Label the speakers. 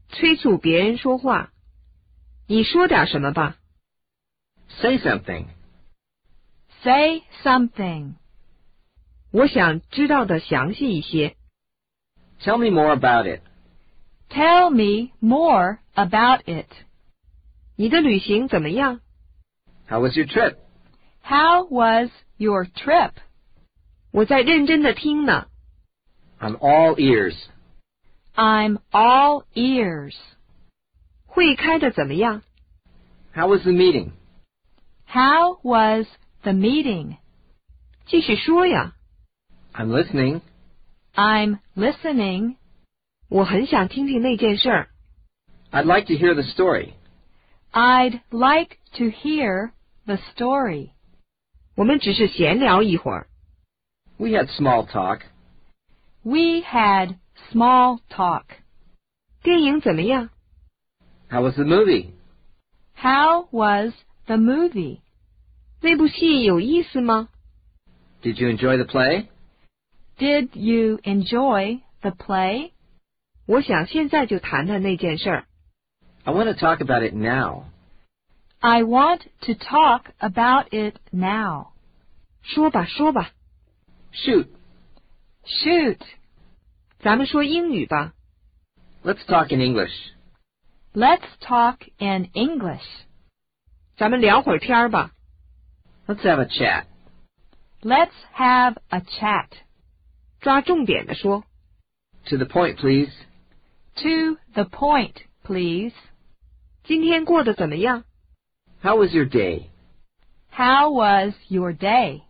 Speaker 1: 催促别人说话。你说点什么吧。
Speaker 2: Say something.
Speaker 3: Say something.
Speaker 1: 我想知道的详细一些。
Speaker 2: Tell me more about it.
Speaker 3: Tell me more about it.
Speaker 1: 你的旅行怎么样？
Speaker 2: How was your trip?
Speaker 3: How was your trip?
Speaker 1: 我在认真的听呢。
Speaker 2: I'm all ears.
Speaker 3: I'm all ears.
Speaker 1: 会开的怎么样？
Speaker 2: How was the meeting?
Speaker 3: How was the meeting?
Speaker 1: 继续说呀。
Speaker 2: I'm listening.
Speaker 3: I'm listening.
Speaker 1: 我很想听听那件事儿。
Speaker 2: I'd like to hear the story.
Speaker 3: I'd like to hear the story.
Speaker 1: 我们只是闲聊一会儿。
Speaker 2: We had small talk.
Speaker 3: We had small talk.
Speaker 1: 电影怎么样？
Speaker 2: How was the movie?
Speaker 3: How was the movie?
Speaker 1: 那部戏有意思吗？
Speaker 2: Did you enjoy the play?
Speaker 3: Did you enjoy the play?
Speaker 1: 我想现在就谈谈那件事儿。
Speaker 2: I want to talk about it now.
Speaker 3: I want to talk about it now.
Speaker 1: 说吧，说吧。
Speaker 2: Shoot.
Speaker 3: Shoot.
Speaker 1: 咱们说英语吧。
Speaker 2: Let's talk in English.
Speaker 3: Let's talk in English.
Speaker 1: 咱们聊会儿天儿吧。
Speaker 2: Let's have a chat.
Speaker 3: Let's have a chat.
Speaker 1: 抓重点的说。
Speaker 2: To the point, please.
Speaker 3: To the point, please.
Speaker 1: 今天过得怎么样？
Speaker 2: How was your day?
Speaker 3: How was your day?